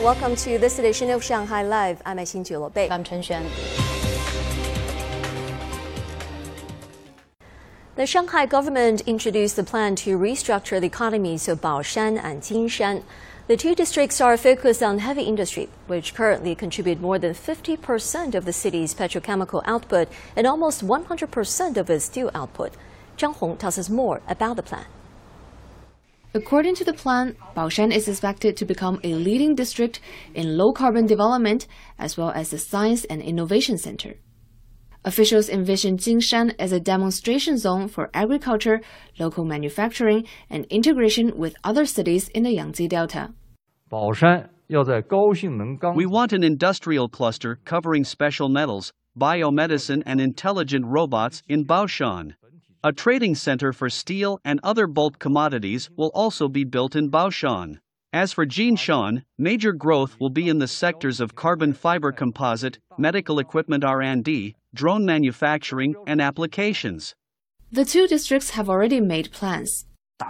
Welcome to this edition of Shanghai Live. I'm Xin Bei. I'm Chen Xuan. The Shanghai government introduced the plan to restructure the economies of Baoshan and Jinshan. The two districts are focused on heavy industry, which currently contribute more than 50% of the city's petrochemical output and almost 100% of its steel output. Zhang Hong tells us more about the plan. According to the plan, Baoshan is expected to become a leading district in low-carbon development as well as a science and innovation center. Officials envision Jinshan as a demonstration zone for agriculture, local manufacturing, and integration with other cities in the Yangtze Delta. We want an industrial cluster covering special metals, biomedicine, and intelligent robots in Baoshan. A trading center for steel and other bulk commodities will also be built in Baoshan. As for Jinshan, major growth will be in the sectors of carbon fiber composite, medical equipment R&D, drone manufacturing, and applications. The two districts have already made plans.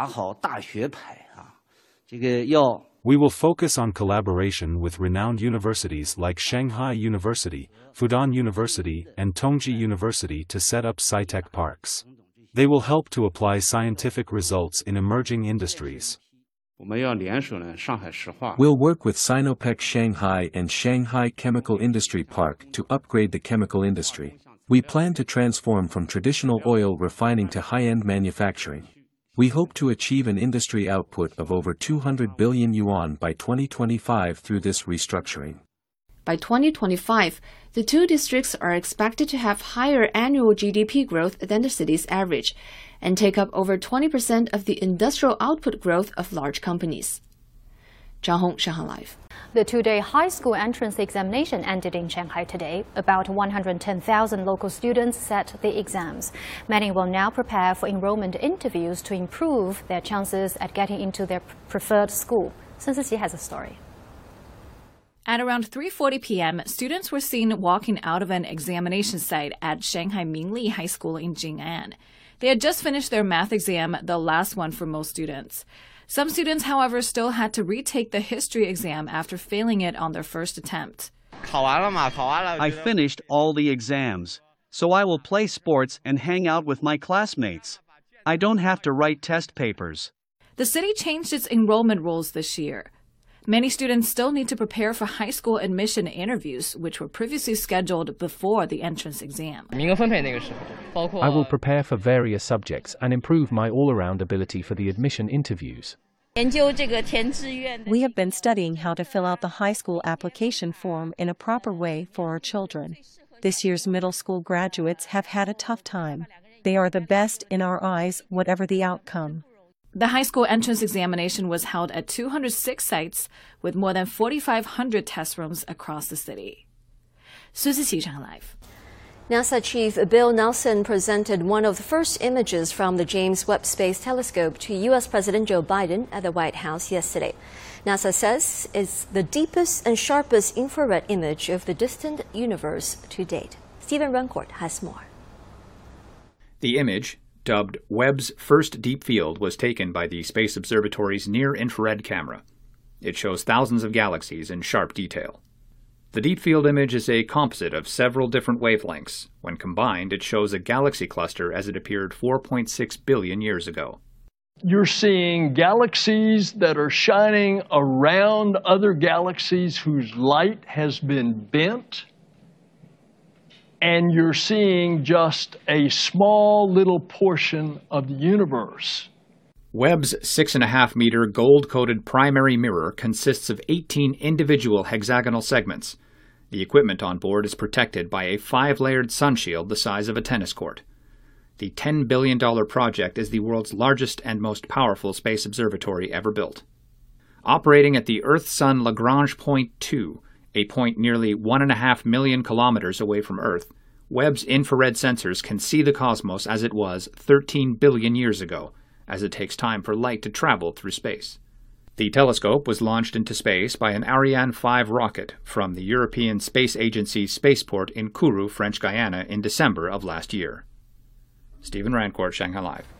We will focus on collaboration with renowned universities like Shanghai University, Fudan University, and Tongji University to set up sci-tech parks. They will help to apply scientific results in emerging industries. We'll work with Sinopec Shanghai and Shanghai Chemical Industry Park to upgrade the chemical industry. We plan to transform from traditional oil refining to high-end manufacturing. We hope to achieve an industry output of over 200 billion yuan by 2025 through this restructuring. By 2025, the two districts are expected to have higher annual GDP growth than the city's average and take up over 20% of the industrial output growth of large companies. Zhang Hong, Shanghai Live. The two-day high school entrance examination ended in Shanghai today. About 110,000 local students sat the exams. Many will now prepare for enrollment interviews to improve their chances at getting into their preferred school. Sun Sisi has a story. At around 3:40 p.m., students were seen walking out of an examination site at Shanghai Mingli High School in Jing'an. They had just finished their math exam, the last one for most students. Some students, however, still had to retake the history exam after failing it on their first attempt. I finished all the exams, so I will play sports and hang out with my classmates. I don't have to write test papers. The city changed its enrollment rules this year. Many students still need to prepare for high school admission interviews, which were previously scheduled before the entrance exam. I will prepare for various subjects and improve my all-around ability for the admission interviews. We have been studying how to fill out the high school application form in a proper way for our children. This year's middle school graduates have had a tough time. They are the best in our eyes, whatever the outcome. The high school entrance examination was held at 206 sites with more than 4,500 test rooms across the city. Su Zixi, Shanghai Live. NASA Chief Bill Nelson presented one of the first images from the James Webb Space Telescope to U.S. President Joe Biden at the White House yesterday. NASA says it's the deepest and sharpest infrared image of the distant universe to date. Stephen Runcourt has more. The image, dubbed Webb's first deep field, was taken by the Space Observatory's near-infrared camera. It shows thousands of galaxies in sharp detail. The deep field image is a composite of several different wavelengths. When combined, it shows a galaxy cluster as it appeared 4.6 billion years ago. You're seeing galaxies that are shining around other galaxies whose light has been bent. And you're seeing just a small little portion of the universe. Webb's 6.5-meter gold-coated primary mirror consists of 18 individual hexagonal segments. The equipment on board is protected by a 5-layered sunshield the size of a tennis court. The $10 billion project is the world's largest and most powerful space observatory ever built. Operating at the Earth-Sun Lagrange Point 2, a point nearly 1.5 million kilometers away from Earth, Webb's infrared sensors can see the cosmos as it was 13 billion years ago, as it takes time for light to travel through space. The telescope was launched into space by an Ariane 5 rocket from the European Space Agency's spaceport in Kourou, French Guiana, in December of last year. Stephen Rancourt, Shanghai Live.